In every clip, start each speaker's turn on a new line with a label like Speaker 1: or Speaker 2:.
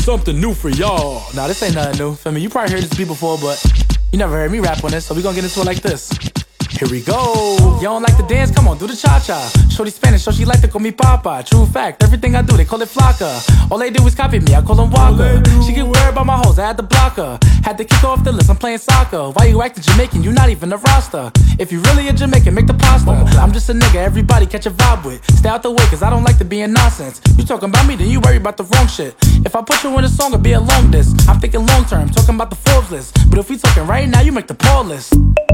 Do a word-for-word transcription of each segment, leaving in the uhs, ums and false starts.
Speaker 1: something new for y'all. Nah, this ain't nothing new. Feel me? You probably heard this beat before, but you never heard me rap on this, so we gonna get into it like this. Here we go. You don't like to dance? Come on, do the cha-cha. Shorty Spanish, so she like to call me Papa. True fact, everything I do, they call it Flocka. All they do is copy me, I call them Walker. She get worried about my hoes, I had to block her. Had to kick off the list, I'm playing soccer. Why you acting Jamaican? You not even a roster. If you really a Jamaican, make the pasta. I'm just a nigga, everybody catch a vibe with. Stay out the way, cause I don't like to be in nonsense. You talking about me, then you worry about the wrong shit. If I put you in a song, it'll be a long disc. I'm thinking long term, talking about the Forbes list. But if we talking right now, you make the Paul list.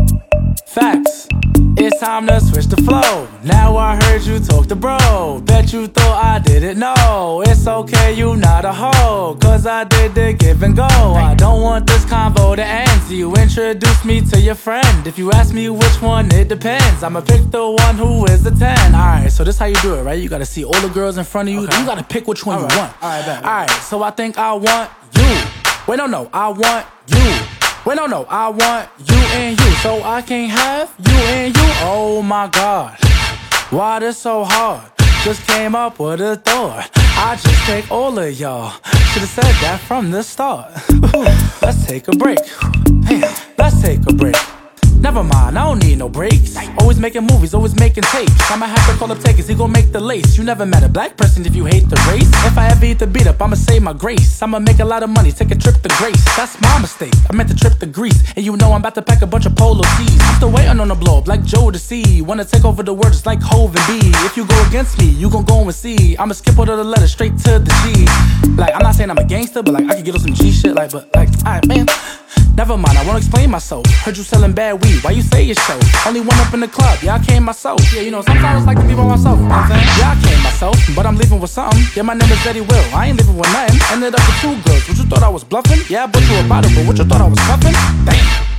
Speaker 1: Facts. It's time to switch the flow. Now I heard you talk to bro. Bet you thought I didn't know. It's okay, you not a hoe, cause I did the give and go. I don't want this convo to end, so you introduce me to your friend. If you ask me which one, it depends. I'ma pick the one who is the ten. Alright, so this how you do it, right? You gotta see all the girls in front of you. Okay. You gotta pick which one all you right. want. Alright, bet. Alright, so I think I want you. Wait, no, no, I want you. Wait, no, no, I want you and you. So I can't have you and you. Oh my God, why this so hard? Just came up with a thought. I just take all of y'all. Should've said that from the start. Let's take a break. Damn, let's take a break. Never mind, I don't need no breaks. Always making movies, always making tapes. I'ma have to call up Takers, he gon' make the lace. You never met a black person if you hate the race. If I ever eat the beat up, I'ma save my grace. I'ma make a lot of money, take a trip to Grace. That's my mistake, I meant to trip to Greece. And you know I'm about to pack a bunch of polo tees. I'm still waiting on the blow up like Joe to see. Wanna take over the world just like Hov and B. If you go against me, you gon' go and see. I'ma skip all of the letters straight to the G. Like, I'm not saying I'm a gangster, but like, I could get on some G shit. Like, but like, alright man, never mind, I won't explain myself. Heard you selling bad weed, why you say it's show? Only one up in the club, yeah, I came myself. Yeah, you know, sometimes I like to be by myself, you know what I'm saying? Yeah, I came myself, but I'm leaving with something. Yeah, my name is Eddie Will, I ain't leaving with nothing. Ended up with two girls, what you thought I was bluffing? Yeah, I bought you a bottle, but what you thought I was cuffing? Damn,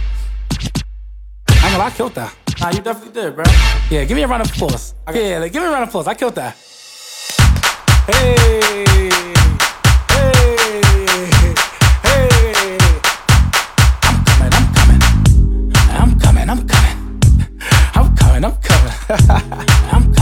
Speaker 1: I ain't gonna lie, I killed that. Nah, you definitely did, bro. Yeah, give me a round of applause. Yeah, like, give me a round of applause, I killed that. Hey. I'm coming, I'm coming. I'm coming.